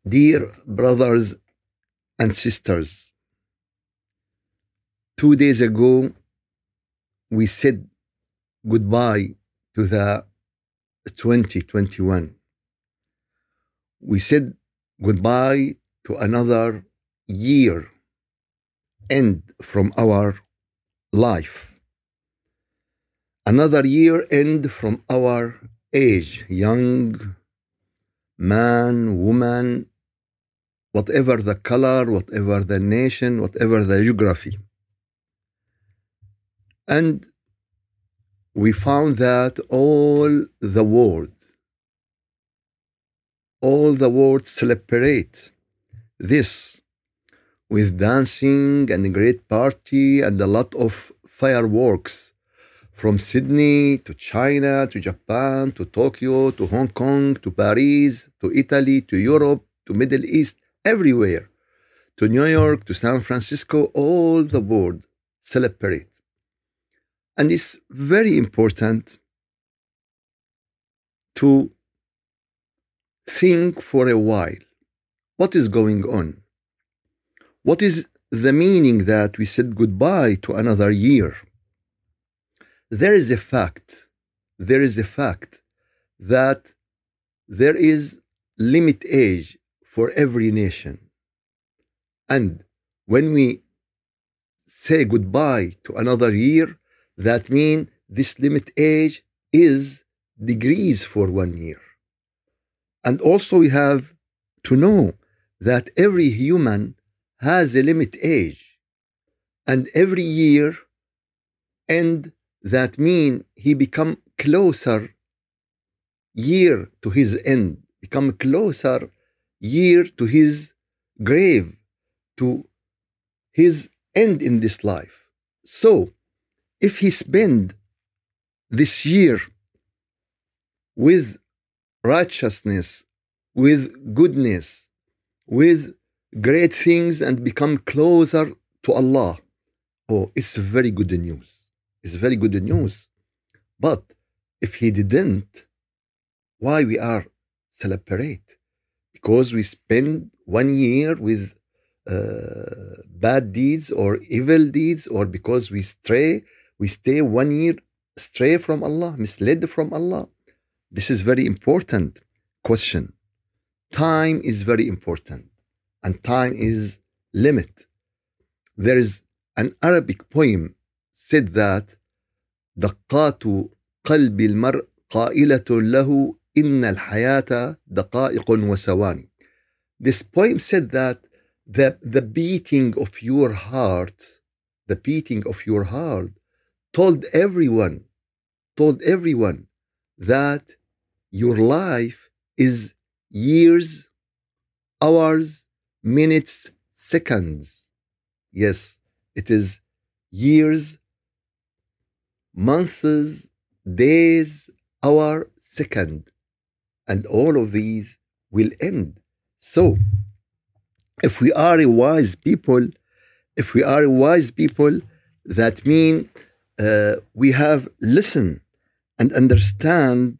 Dear brothers and sisters, 2 days ago we said goodbye to the 2021. We said goodbye to another year end from our life. Another year end from our age, young man, woman, whatever the color, whatever the nation, whatever the geography. And we found that all the world celebrate this with dancing and a great party and a lot of fireworks from Sydney to China to Japan to Tokyo to Hong Kong to Paris to Italy to Europe to Middle East, everywhere, to New York to San Francisco, all the world celebrate. And it's very important to think for a while, what is going on? What is the meaning that we said goodbye to another year? There is a fact that there is limit age for every nation. And when we say goodbye to another year, that means this limit age is degrees for 1 year. And also we have to know that every human has a limit age. And every year, and that means he become closer year to his end, become closer year to his grave, to his end in this life. So, if he spend this year with righteousness, with goodness, with great things and become closer to Allah, oh, it's very good news. It's very good news. But if he didn't, why we are celebrate? Because we spend 1 year with bad deeds or evil deeds, or because we stay 1 year stray from Allah, misled from Allah. This is very important question. Time is very important, and time is limit. There is an Arabic poem said that دقات قلب المرء قائلة له إن الحياة دقائق وثواني. This poem said that the beating of your heart told everyone that your life is years, hours, minutes, seconds. Yes, it is years, months, days, hour, second. And all of these will end. So, if we are a wise people, that means we have listened and understand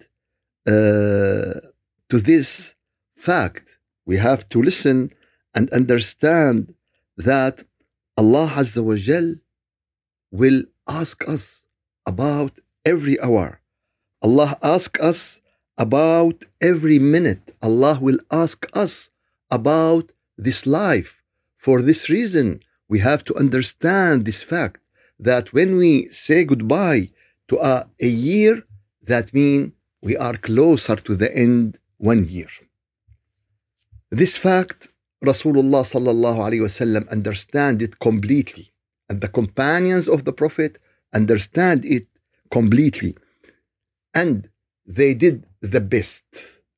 to this fact. We have to listen and understand that Allah Azza wa Jal will ask us about every hour. Allah asks us about every minute. Allah will ask us about this life. For this reason, we have to understand this fact that when we say goodbye to a year, that means we are closer to the end 1 year. This fact, Rasulullah sallallahu alaihi wasallam understand it completely, and the companions of the Prophet understand it completely, and they did the best.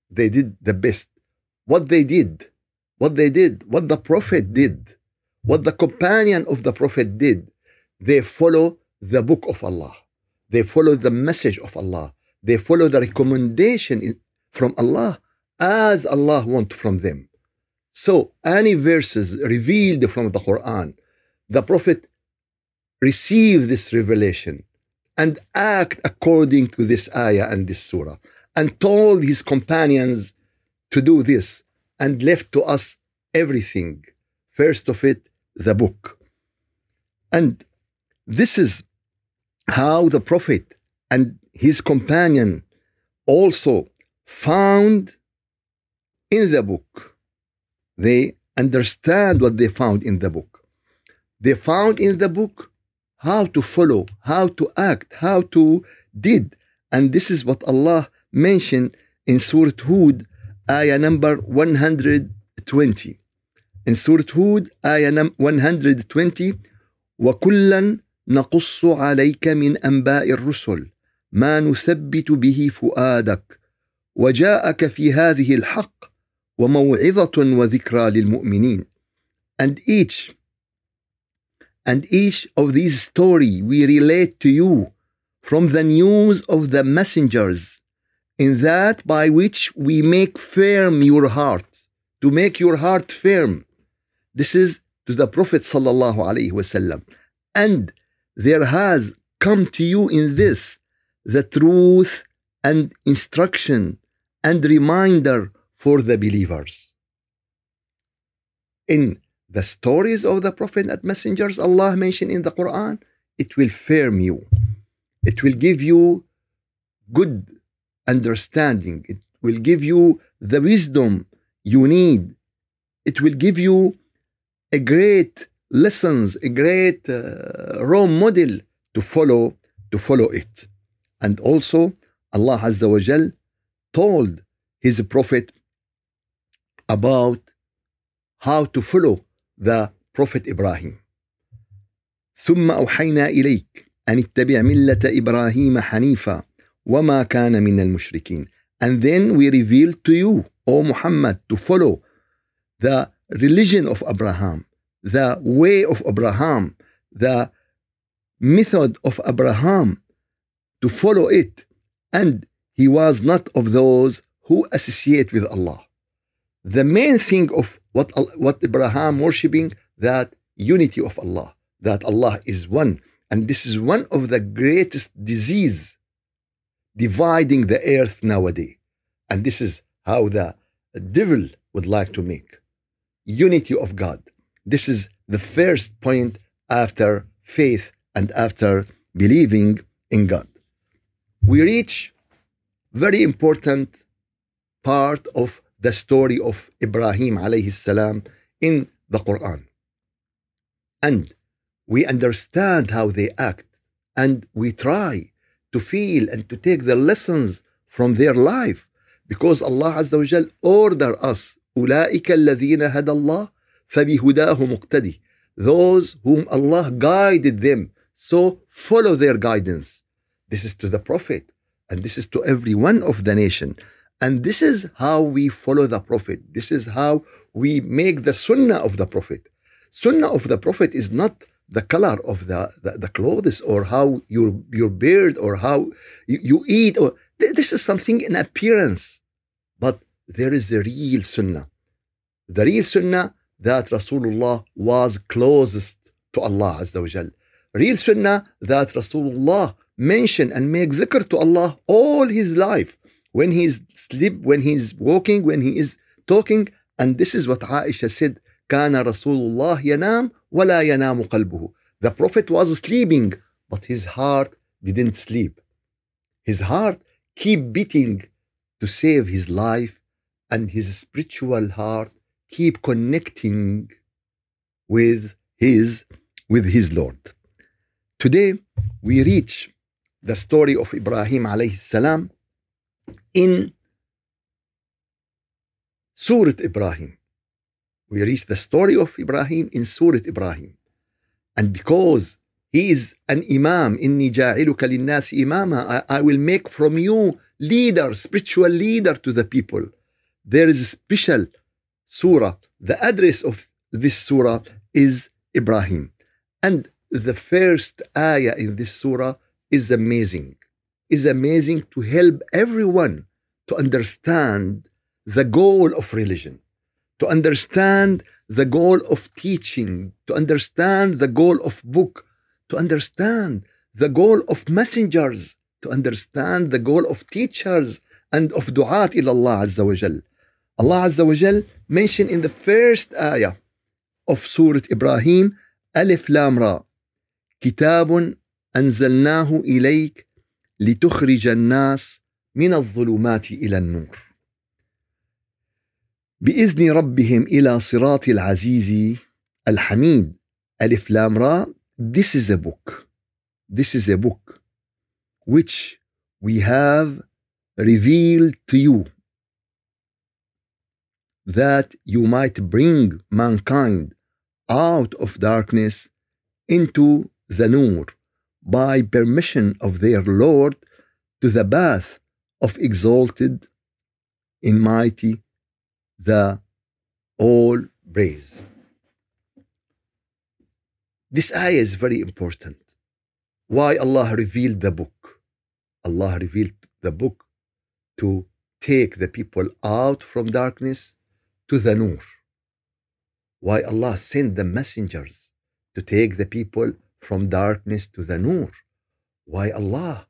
What the Prophet did, what the companion of the Prophet did, they follow the book of Allah. They follow the message of Allah. They follow the recommendation from Allah as Allah wants from them. So any verses revealed from the Quran, the Prophet received this revelation and act according to this ayah and this surah, and told his companions to do this. and left to us everything. First of it, the book. And this is how the Prophet and his companion also found in the book. They understand what they found in the book. They found in the book how to follow, how to act, how to did. And this is what Allah mentioned in Surah Hud, ayah number 120. In Surah Hud, ayah 120, وَكُلًّا نَقُصُّ عَلَيْكَ مِنْ أَنْبَاءِ الرُّسُلِ مَا نُثَبِّتُ بِهِ فُؤَادَكَ وَجَاءَكَ فِي هَذِهِ الْحَقِّ وَمَوْعِظَةٌ وَذِكْرَى لِلْمُؤْمِنِينَ. And each of these stories we relate to you from the news of the messengers, in that by which we make firm your heart, to make your heart firm. This is to the Prophet sallallahu alaihi wasallam. And there has come to you in this the truth and instruction and reminder for the believers. In the stories of the Prophet and messengers Allah mentioned in the Quran, it will firm you. It will give you good understanding. It will give you the wisdom you need. It will give you a great lessons, a great role model to follow it. And also Allah Azza wa Jal told his Prophet about how to follow the Prophet Ibrahim. ثم أوحينا إليك أن اتبع ملة إبراهيم حنيفا وما كان من المشركين. And then we revealed to you, O Muhammad, to follow the religion of Abraham, the way of Abraham, the method of Abraham, to follow it. And he was not of those who associate with Allah. The main thing of what Abraham worshipping, that unity of Allah, that Allah is one. And this is one of the greatest disease dividing the earth nowadays. And this is how the devil would like to make unity of God. This is the first point after faith and after believing in God. We reach very important part of the story of Ibrahim alayhi salam in the Quran. And we understand how they act, and we try to feel and to take the lessons from their life, because Allah Azza wa Jal order us, أولئك الذين هدى الله فبهداه مقتدي. Those whom Allah guided them, so follow their guidance. This is to the Prophet, and this is to every one of the nation. And this is how we follow the Prophet. This is how we make the Sunnah of the Prophet. Sunnah of the Prophet is not the color of the clothes, or how your beard, or how you eat. Or this is something in appearance. But there is the real Sunnah. The real Sunnah that Rasulullah was closest to Allah Azza wa Jal. Real Sunnah that Rasulullah mentioned and make dhikr to Allah all his life. When he is sleep, when he is walking, when he is talking. And this is what Aisha said, كان رسول الله ينام ولا ينام قلبه. The Prophet was sleeping, but his heart didn't sleep. His heart keep beating to save his life, and his spiritual heart keep connecting with his Lord. Today we reach the story of Ibrahim alayhi salam in Surah Ibrahim. We reach the story of Ibrahim in Surah Ibrahim. And because he is an imam, إِنِّي جَاعِلُكَ لِلنَّاسِ إِمَامًا, I will make from you leader, spiritual leader to the people. There is a special surah. The address of this surah is Ibrahim. And the first ayah in this surah is amazing. Is amazing to help everyone to understand the goal of religion, to understand the goal of teaching, to understand the goal of book, to understand the goal of messengers, to understand the goal of teachers and of du'at ila Allah Azza wa Jal. Allah Azza wa Jal mentioned in the first ayah of Surah Ibrahim, Alif Lam Ra, كتاب أنزلناه إليك لتخرج الناس من الظلمات إلى النور بإذن ربهم إلى صراط العزيز الحميد. Alif Lam Ra, this is a book. This is a book which we have revealed to you that you might bring mankind out of darkness into the Nur by permission of their Lord to the path of exalted in mighty the all praise. This ayah is very important. Why Allah revealed the book? Allah revealed the book to take the people out from darkness to the Nur. Why Allah sent the messengers to take the people from darkness to the Nur? Why Allah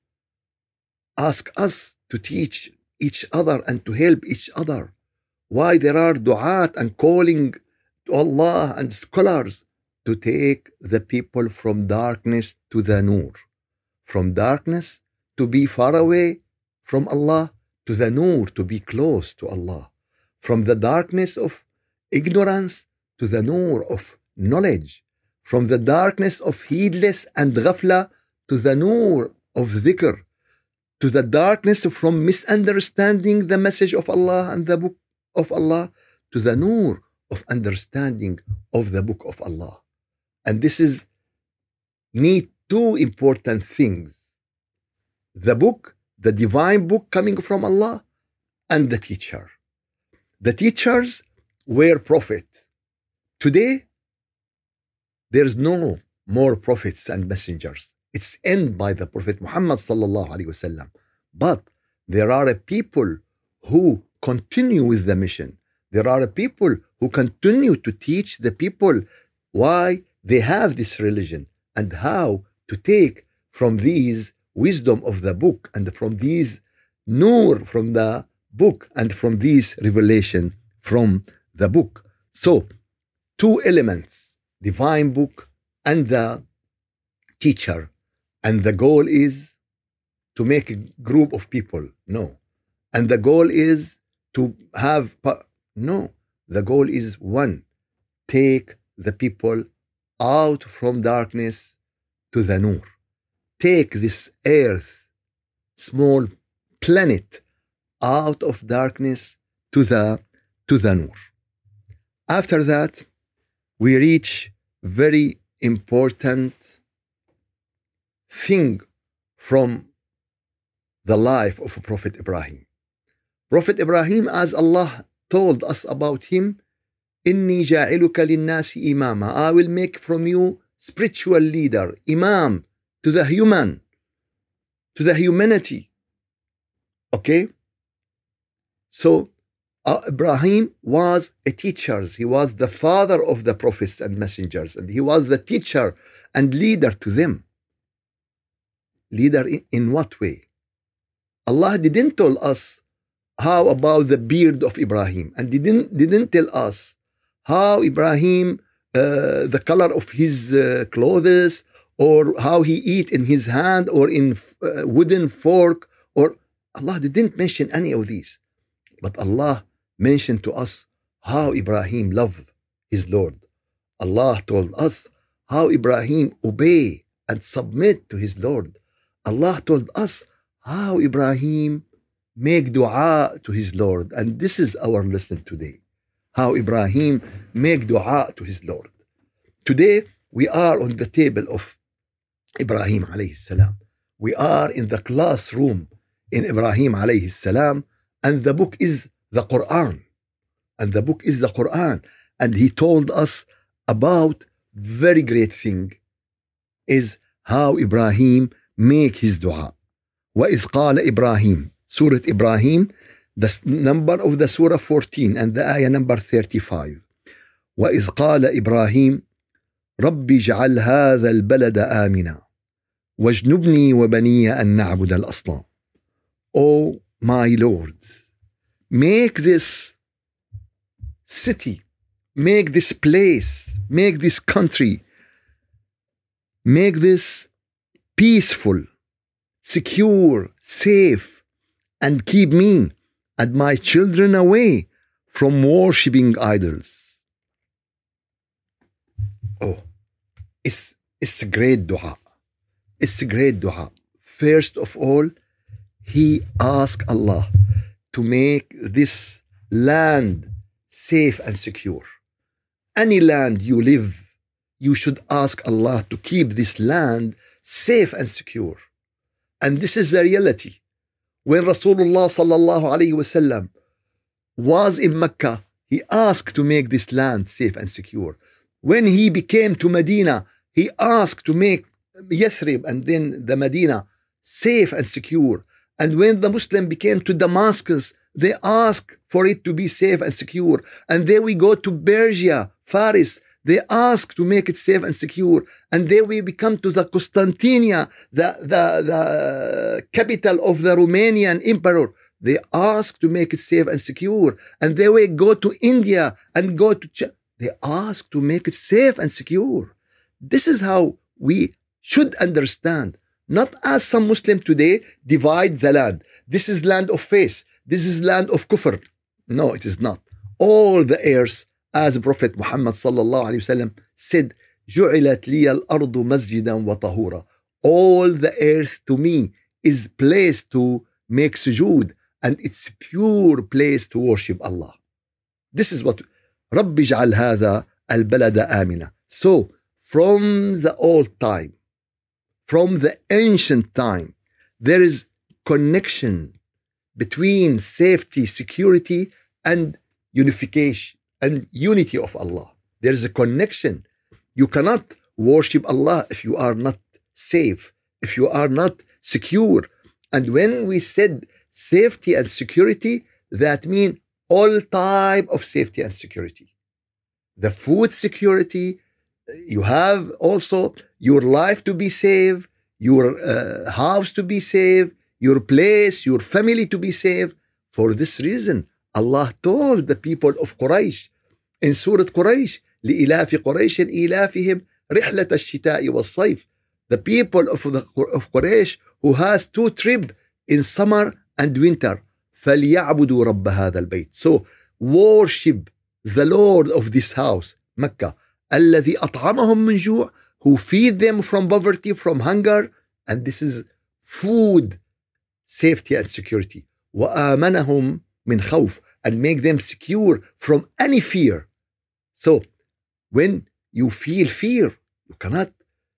ask us to teach each other and to help each other? Why there are du'at and calling to Allah and scholars to take the people from darkness to the Nur, from darkness to be far away from Allah to the Nur, to be close to Allah, from the darkness of ignorance to the Nur of knowledge, from the darkness of heedless and ghafla to the Nur of dhikr, to the darkness from misunderstanding the message of Allah and the book of Allah, to the Nur of understanding of the book of Allah. And this is need two important things: the book, the divine book coming from Allah, and the teacher. The teachers were prophets. Today, there's no more prophets and messengers. It's ended by the Prophet Muhammad sallallahu alaihi wasallam. But there are a people who continue with the mission. There are a people who continue to teach the people why they have this religion and how to take from these wisdom of the book and from these nur from the book and from these revelation from the book. So, two elements, divine book and the teacher. And the goal is to make a group of people. No. And the goal is to have, no. The goal is one, take the people out from darkness to the Nur. Take this earth, small planet, out of darkness to the Nur. After that, we reach very important thing from the life of Prophet Ibrahim. Prophet Ibrahim, as Allah told us about him, إِنِّي جَاعِلُكَ لِلنَّاسِ إِمَامًا, I will make from you spiritual leader, imam, to the human, to the humanity. Okay? So, Ibrahim was a teacher. He was the father of the prophets and messengers, and he was the teacher and leader to them. Leader in what way? Allah didn't tell us how about the beard of Ibrahim, and didn't tell us how Ibrahim, the color of his clothes, or how he eat in his hand or in wooden fork, or Allah didn't mention any of these. But Allah mentioned to us how Ibrahim loved his Lord. Allah told us how Ibrahim obey and submit to his Lord. Allah told us how Ibrahim make dua to his Lord. And this is our lesson today. How Ibrahim make dua to his Lord. Today, we are on the table of Ibrahim alayhi salam. We are in the classroom in Ibrahim alayhi salam, and the book is the Quran. And the book is the Quran. And he told us about very great thing is how Ibrahim make his dua. وَإِذْ قَالَ إِبْرَاهِيمُ, Surah Ibrahim, the number of the surah 14 and the ayah number 35. وَإِذْ قَالَ إِبْرَاهِيمُ رَبِّ اجْعَلْ هَذَا الْبَلَدَ آمِنًا وَاجْنُبْنِي وَبَنِيَّ أَن نَّعْبُدَ الْأَصْنَامَ. O my Lord, make this city, make this place, make this country, make this peaceful, secure, safe, and keep me and my children away from worshipping idols. Oh, it's a great dua. It's a great dua. First of all, he asked Allah to make this land safe and secure. Any land you live, you should ask Allah to keep this land safe and secure. And this is the reality. When Rasulullah sallallahu alayhi wasallam was in Mecca, he asked to make this land safe and secure. When he became to Medina, he asked to make Yathrib and then the Medina safe and secure. And when the Muslim became to Damascus, they asked for it to be safe and secure. And then we go to Persia, Faris, they ask to make it safe and secure. And then we become to the Constantinia, the capital of the Romanian emperor. They ask to make it safe and secure. And then we go to India and go to they ask to make it safe and secure. This is how we should understand. Not as some Muslim today divide the land. This is land of faith. This is land of kufr. No, it is not. All the earth, as Prophet Muhammad sallallahu alaihi wasallam said, "Ju'ilat liya al-ardu masjidan wa tahura." All the earth to me is placed to make sujood, and it's a pure place to worship Allah. This is what رب اجعل هذا البلد آمنا. So from the old time, from the ancient time, there is connection between safety, security, and unification and unity of Allah. There is a connection. You cannot worship Allah if you are not safe, if you are not secure. And when we said safety and security, that means all type of safety and security. The food security, you have also your life to be safe, your house to be safe, your place, your family to be safe. For this reason, Allah told the people of Quraysh in Surah Quraysh, لإلاف قريش إلافهم رحلة الشتاء والصيف. The people of Quraysh who has two trips in summer and winter. فليعبدوا رب هذا البيت. So worship the Lord of this house, Mecca, الذي أطعمهم من جوع, who feed them from poverty, from hunger, and this is food, safety and security. وآمنهم من خوف, and make them secure from any fear. So when you feel fear, you cannot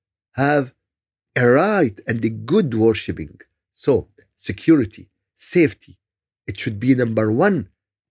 have a right and a good worshiping. So security, safety, it should be number one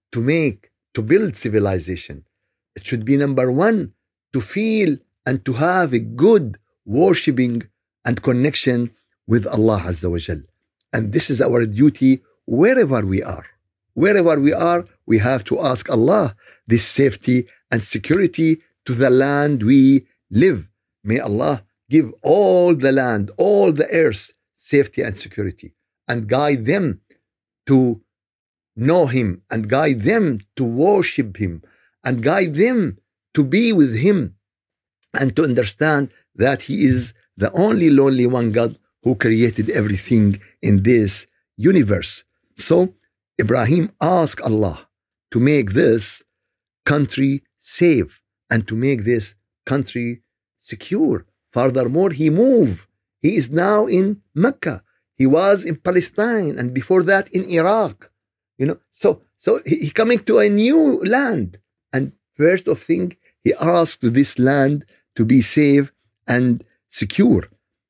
to build civilization. It should be number one to feel and to have a good worshiping and connection with Allah Azza wa Jal. And this is our duty wherever we are. Wherever we are, we have to ask Allah this safety and security to the land we live. May Allah give all the land, all the earth, safety and security, and guide them to know Him, and guide them to worship Him, and guide them to be with Him, and to understand that He is the only lonely one God who created everything in this universe. So Ibrahim asked Allah to make this country safe and to make this country secure. Furthermore, he moved. He is now in Mecca. He was in Palestine, and before that in Iraq. So he coming to a new land. And first of thing, he asked this land to be safe and secure.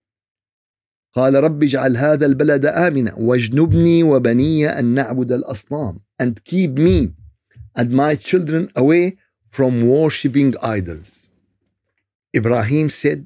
قال رب اجعل هذا البلد آمنا واجنبني وبني أن نعبد الأصنام, and keep me and my children away from worshipping idols. Ibrahim said,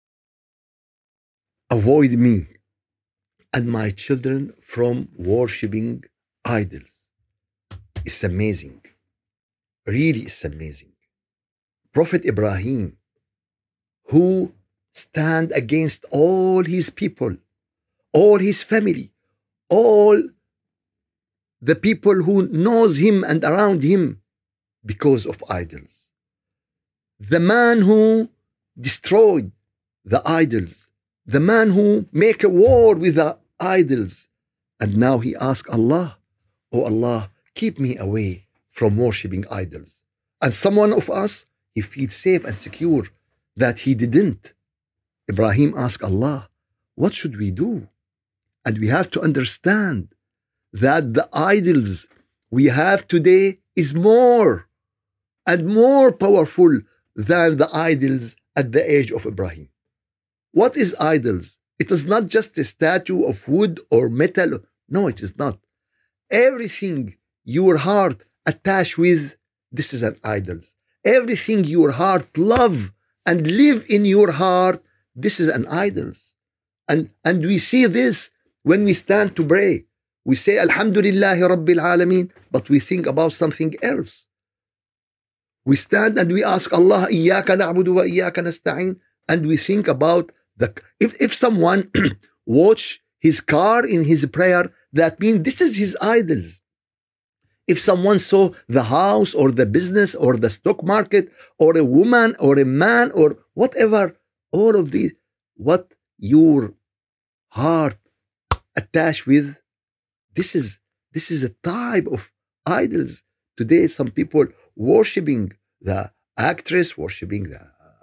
avoid me and my children from worshipping idols. It's amazing. Really, it's amazing. Prophet Ibrahim, who stand against all his people, all his family, all the people who knows him and around him, because of idols. The man who destroyed the idols, the man who make a war with the idols, and now he asks Allah, oh Allah, keep me away from worshipping idols. And someone of us, he feels safe and secure that he didn't. Ibrahim asked Allah, what should we do? And we have to understand that the idols we have today is more and more powerful than the idols at the age of Ibrahim. What is idols? It is not just a statue of wood or metal. No, it is not. Everything your heart attached with, this is an idol. Everything your heart love and live in your heart, this is an idol. And we see this when we stand to pray. We say, Alhamdulillahi Rabbil Alameen, but we think about something else. We stand and we ask Allah, Iyaka na'budu wa iyaka nasta'in, and we think about if someone watch his car in his prayer, that means this is his idols. If someone saw the house or the business or the stock market or a woman or a man or whatever, all of these, what your heart attached with, this is a type of idols. Today, some people worshiping the actress, worshiping the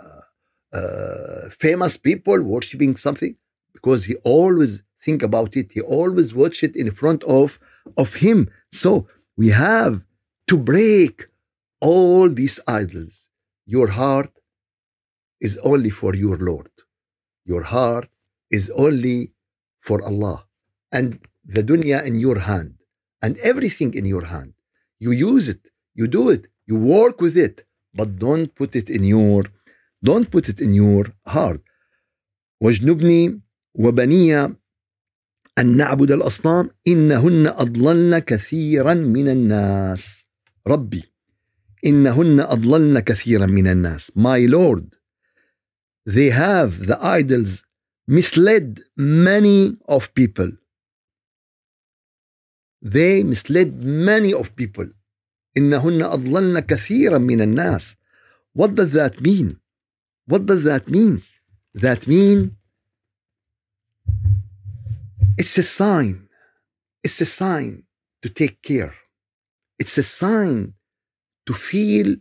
famous people, worshiping something, because he always think about it. He always watch it in front of him. So we have to break all these idols. Your heart is only for your Lord. Your heart is only for Allah. And the dunya in your hand and everything in your hand. You use it, you do it, you work with it, but don't put it in your heart. واجنبني وبني أن نعبد الأصنام إنهن أضللن كثيرا من الناس. ربي إنهن أضللن كثيرا من الناس. My Lord, they have, the idols, misled many of people. They misled many of people. إنهن أضللن كثيرا من الناس. What does that mean? What does that mean? That means it's a sign. It's a sign to take care. It's a sign to feel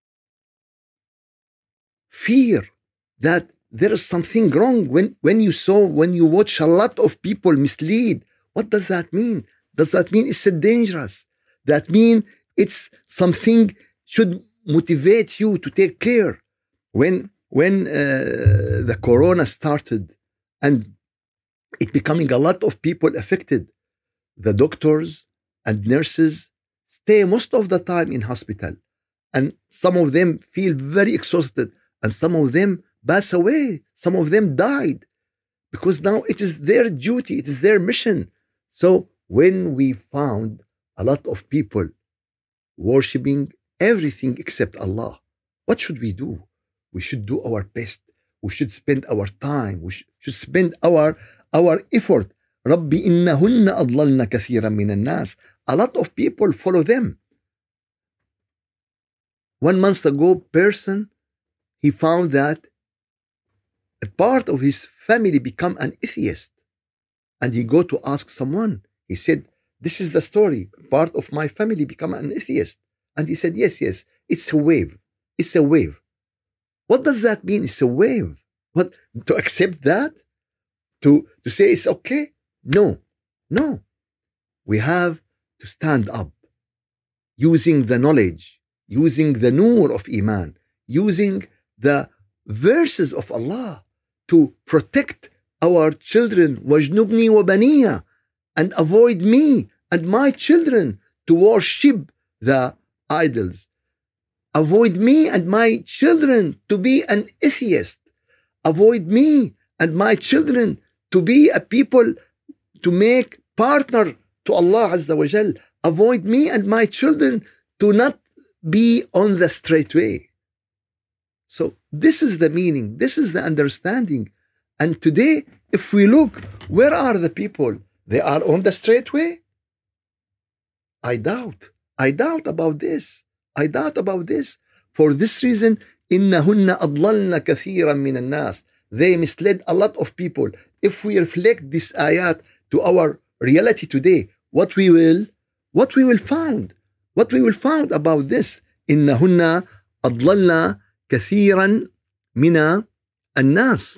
fear that there is something wrong. When you watch a lot of people mislead, what does that mean? Does that mean it's dangerous? That means it's something should motivate you to take care. When the corona started and it becoming a lot of people affected, the doctors and nurses stay most of the time in hospital, and some of them feel very exhausted, and some of them pass away, some of them died, because now it is their duty, it is their mission. So when we found a lot of people worshipping everything except Allah, what should we do? We should do our best. We should spend our time. We should spend our effort. رَبِّ إِنَّهُنَّ أَضْلَلْنَ كَثِيرًا مِنَ النَّاسِ. A lot of people follow them. 1 month ago, person, he found that a part of his family become an atheist. And he go to ask someone. He said, this is the story. Part of my family become an atheist. And he said, yes, it's a wave. It's a wave. What does that mean? It's a wave. What? To accept that? To say it's okay? No. We have to stand up using the knowledge, using the nur of Iman, using the verses of Allah to protect our children, وَجْنُبْنِي وَبَنِيَّ, and avoid me and my children to worship the idols. Avoid me and my children to be an atheist. Avoid me and my children to be a people to make partner to Allah Azza wa Jal. Avoid me and my children to not be on the straight way. So this is the meaning. This is the understanding. And today, if we look, where are the people? They are on the straight way? I doubt about this. I doubt about this. For this reason, إنهن أضللن كثيرا من الناس. They misled a lot of people. If we reflect this ayat to our reality today, what we will find about this. إنهن أضللن كثيرا من الناس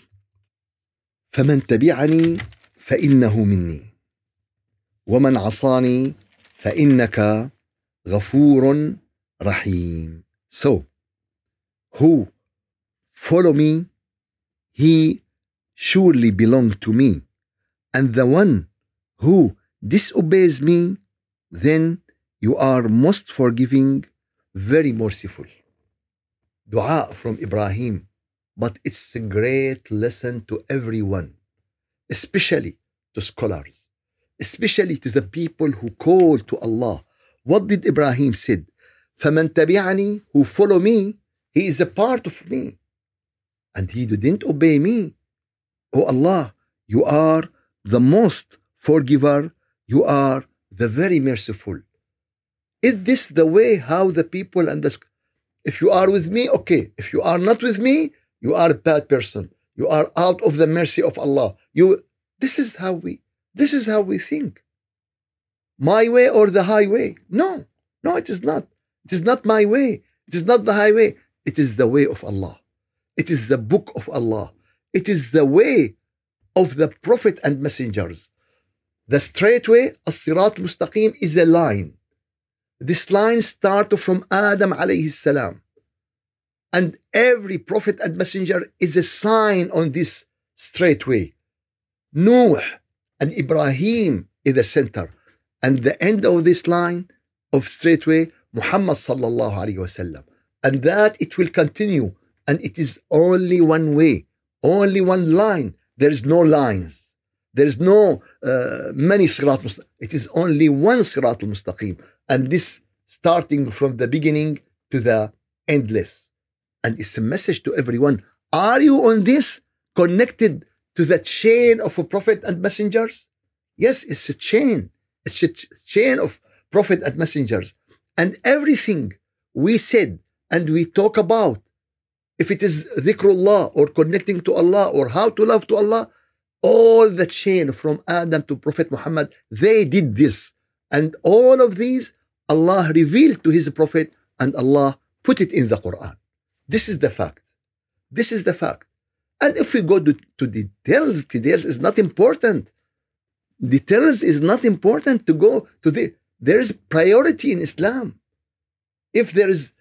فمن تبعني فإنه مني ومن عصاني فإنك غفور رحيم. So, who follow me, he surely belong to me. And the one who disobeys me, then you are most forgiving, very merciful. Dua from Ibrahim. But it's a great lesson to everyone, especially to scholars, especially to the people who call to Allah. What did Ibrahim said? فَمَنْ تَبِعَنِي, who follow me, he is a part of me. And he didn't obey me. Oh Allah, you are the most forgiver, you are the very merciful. Is this the way how the people understand? If you are with me, okay. If you are not with me, you are a bad person. You are out of the mercy of Allah. This is how we think. My way or the highway? No, it is not. It is not my way. It is not the highway. It is the way of Allah. It is the book of Allah. It is the way of the Prophet and messengers. The straight way, as-sirat al-mustaqim, is a line. This line starts from Adam alayhi salam. And every prophet and messenger is a sign on this straight way. Noah and Ibrahim is the center. And the end of this line of straight way, Muhammad sallallahu alayhi wasallam. And that it will continue. And it is only one way, only one line. There is no lines. There is no many sirat mustaqim. It is only one sirat al-mustaqim. And this starting from the beginning to the endless. And it's a message to everyone. Are you on this connected to the chain of a prophet and messengers? Yes, it's a chain. It's a chain of prophet and messengers. And everything we said and we talk about, if it is dhikrullah or connecting to Allah or how to love to Allah, all the chain from Adam to Prophet Muhammad, they did this. And all of these, Allah revealed to His Prophet and Allah put it in the Quran. This is the fact. This is the fact. And if we go to details is not important. Details is not important to go to there is priority in Islam. If there is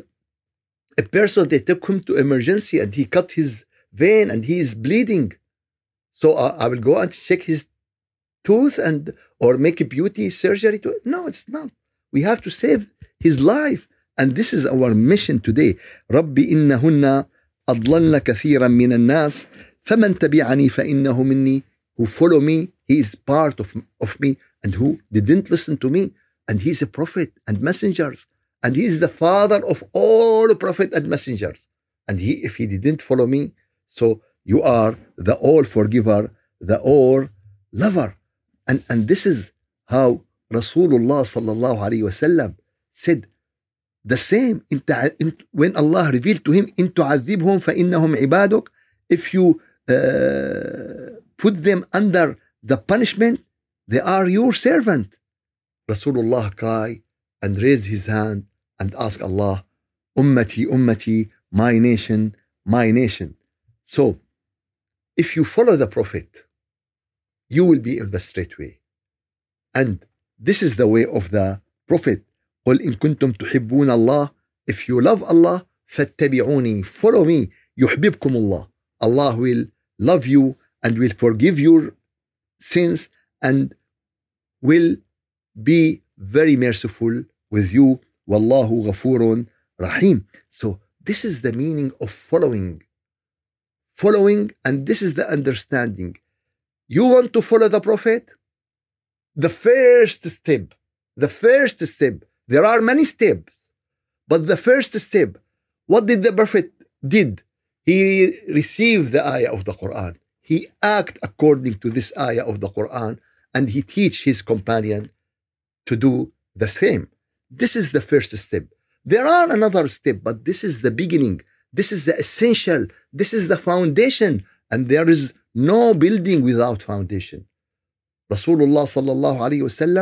a person, they took him to emergency and he cut his vein and he is bleeding. So I will go and check his tooth or make a beauty surgery. No, it's not. We have to save his life. And this is our mission today. رَبِّ إِنَّهُنَّ أَضْلَلْنَ كَثِيرًا مِنَ النَّاسِ فَمَنْ تَبِعَنِي فَإِنَّهُ مِنِّي. Who follow me, he is part of me. And who didn't listen to me. And he's a prophet and messengers. And he is the father of all prophet and messengers. And if he didn't follow me, so you are the all forgiver, the all lover. And this is how Rasulullah sallallahu alayhi wasallam said the same. When Allah revealed to him, إِن تُعَذِّبْهُمْ فَإِنَّهُمْ عِبَادُكَ. If you put them under the punishment, they are your servant. Rasulullah cried and raised his hand and asked Allah, Ummati, Ummati, my nation, my nation. So, if you follow the Prophet, you will be in the straight way. And this is the way of the Prophet. قُلْ إِن كُنْتُمْ تُحِبُّونَ اللَّهِ. If you love Allah, فَاتَّبِعُونِي, follow me. يُحْبِبْكُمُ اللَّهِ. Allah will love you and will forgive your sins and will be very merciful with you. Wallahu ghafurun rahim. So this is the meaning of following. Following, and this is the understanding. You want to follow the Prophet? The first step, there are many steps, but the first step, what did the Prophet did? He received the ayah of the Quran. He acted according to this ayah of the Quran, and he teach his companion to do the same. This is the first step. There are another step, but this is the beginning. This is the essential. This is the foundation. And there is no building without foundation. Rasulullah sallallahu alayhi wasallam,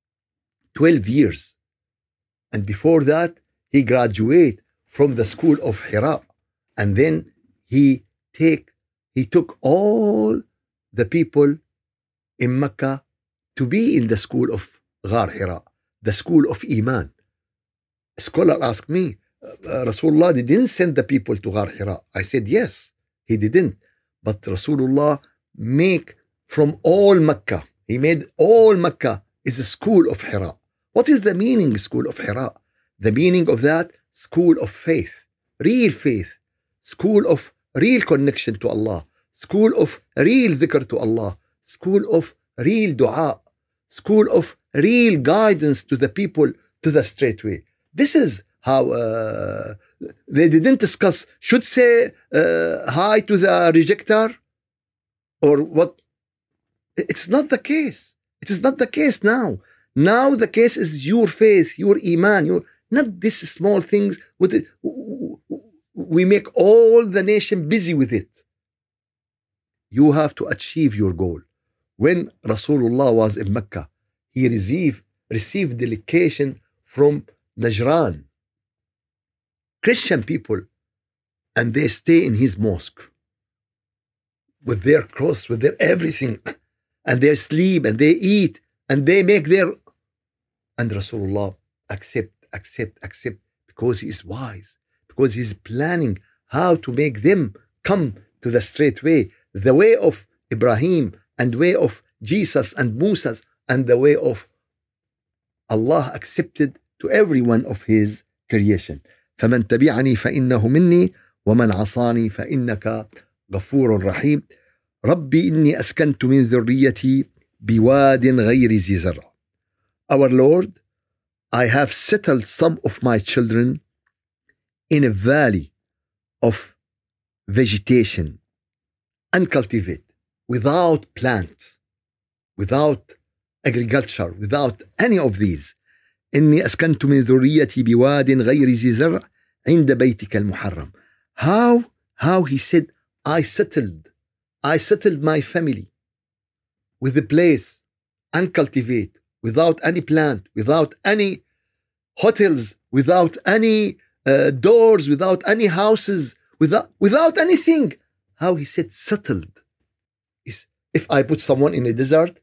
12 years. And before that, he graduated from the school of Hira. And then he took all the people in Mecca to be in the school of Ghar Hira, the school of Iman. A scholar asked me, Rasulullah didn't send the people to Ghar Hira. I said, yes, he didn't. But Rasulullah make from all Mecca, he made all Mecca is a school of Hira. What is the meaning school of Hira? The meaning of that, school of faith, school of real connection to Allah, school of real dhikr to Allah, school of real dua, school of real guidance to the people to the straight way. This is how they didn't discuss should say hi to the rejecter or what. It's not the case. It is not the case now. Now the case is your faith, your iman, not these small things with it. We make all the nation busy with it. You have to achieve your goal. When Rasulullah was in Mecca, he received delegation from Najran, Christian people, and they stay in his mosque with their cross, with their everything, and they sleep and they eat and they make their. And Rasulullah accept, because he is wise, because he's planning how to make them come to the straight way, the way of Ibrahim and way of Jesus and Moses and the way of Allah accepted to every one of his creation. فمن تبعني فإنه مني ومن عصاني فإنك غفور رحيم. ربي إني أسكنت من ذريتي بواد غير ذي زرع. Our Lord, I have settled some of my children in a valley of vegetation, uncultivated, without plant, without agriculture, without any of these. إني أسكنت من ذريتي بواد غير ذي زرع عند بيتك المحرم. How he said, I settled my family with a place uncultivated, without any plant, without any hotels, without any doors, without any houses, without anything. How he said settled. If I put someone in a desert,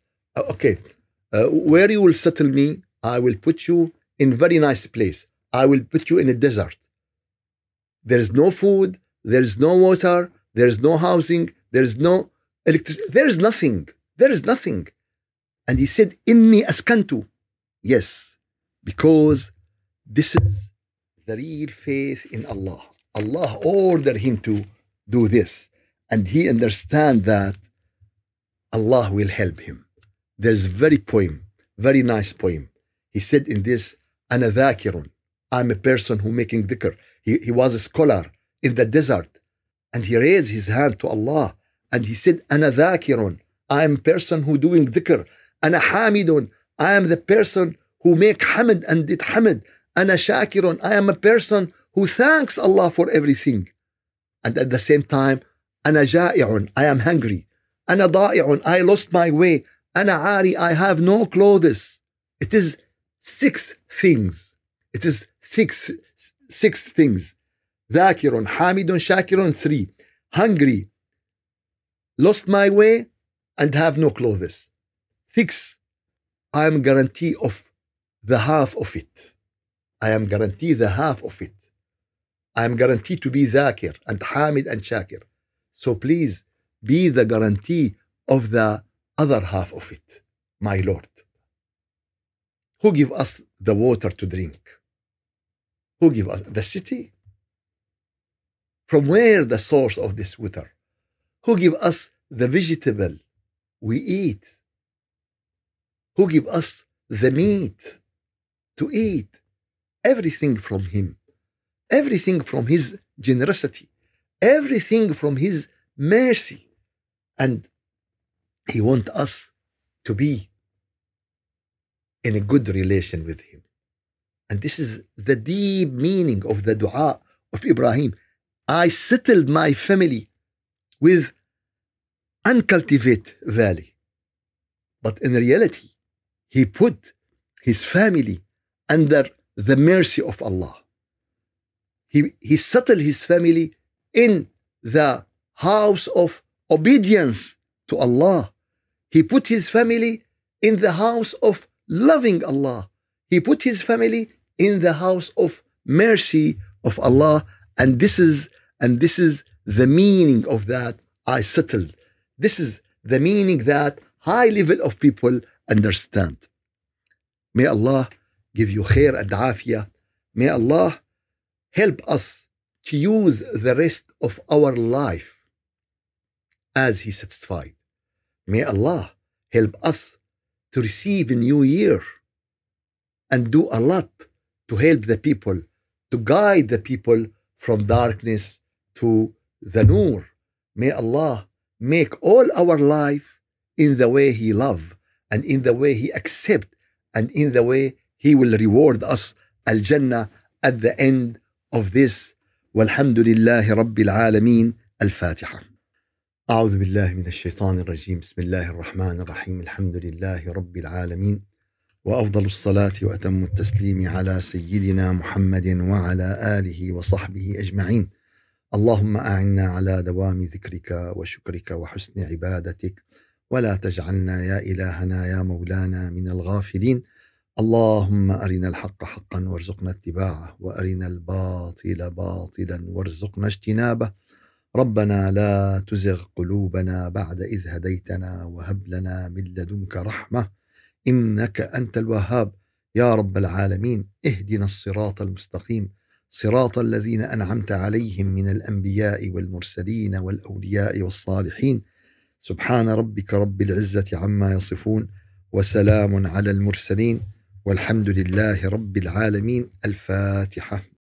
where you will settle me, I will put you in a very nice place. I will put you in a desert. There is no food, there is no water, there is no housing, there is no electricity, there is nothing. And he said, Inni askantu. Yes, because this is the real faith in Allah. Allah ordered him to do this. And he understands that Allah will help him. There's a very nice poem. He said in this, Ana dhakirun. I'm a person who making dhikr. He was a scholar in the desert. And he raised his hand to Allah. And he said, Ana dhakirun. I am a person who doing dhikr. Ana hamidun. I am the person who make hamid and did hamid. Ana shakirun. I am a person who thanks Allah for everything. And at the same time, Ana ja'i'un. I am hungry. Ana da'i'un. I lost my way. Ana ari. I have no clothes. It is six things. Six things. Dhakirun, hamidun, shakirun, 3. Hungry, lost my way, and have no clothes. 6. I am guarantee of the half of it. I am guaranteed the half of it. I am guaranteed to be dhakir and hamid and shakir. So please be the guarantee of the other half of it, my Lord. Who give us the water to drink? Who give us the city? From where the source of this water? Who give us the vegetable we eat? Who give us the meat to eat? Everything from him. Everything from his generosity. Everything from his mercy. And he wants us to be in a good relation with him. And this is the deep meaning of the dua of Ibrahim. I settled my family with uncultivated valley. But in reality, he put his family under the mercy of Allah. He settled his family in the house of obedience to Allah. He put his family in the house of loving Allah. He put his family in the house of mercy of Allah. And this is the meaning of that I settled. This is the meaning that high level of people understand. May Allah give you khair and afiyah. May Allah help us to use the rest of our life as He satisfied. May Allah help us to receive a new year and do a lot to help the people, to guide the people from darkness to the Noor. May Allah make all our life in the way He love and in the way He accept and in the way He will reward us Al-Jannah at the end of this. Walhamdulillahi Rabbil Alameen. Al-Fatiha. أعوذ بالله من الشيطان الرجيم. بسم الله الرحمن الرحيم. الحمد لله رب العالمين، وأفضل الصلاة وأتم التسليم على سيدنا محمد وعلى آله وصحبه أجمعين. اللهم أعنا على دوام ذكرك وشكرك وحسن عبادتك، ولا تجعلنا يا إلهنا يا مولانا من الغافلين. اللهم أرنا الحق حقا وارزقنا اتباعه، وأرنا الباطل باطلا وارزقنا اجتنابه. ربنا لا تزغ قلوبنا بعد إذ هديتنا، وهب لنا من لدنك رحمة إنك أنت الوهاب. يا رب العالمين، اهدنا الصراط المستقيم، صراط الذين أنعمت عليهم من الأنبياء والمرسلين والأولياء والصالحين. سبحان ربك رب العزة عما يصفون، وسلام على المرسلين، والحمد لله رب العالمين. الفاتحة.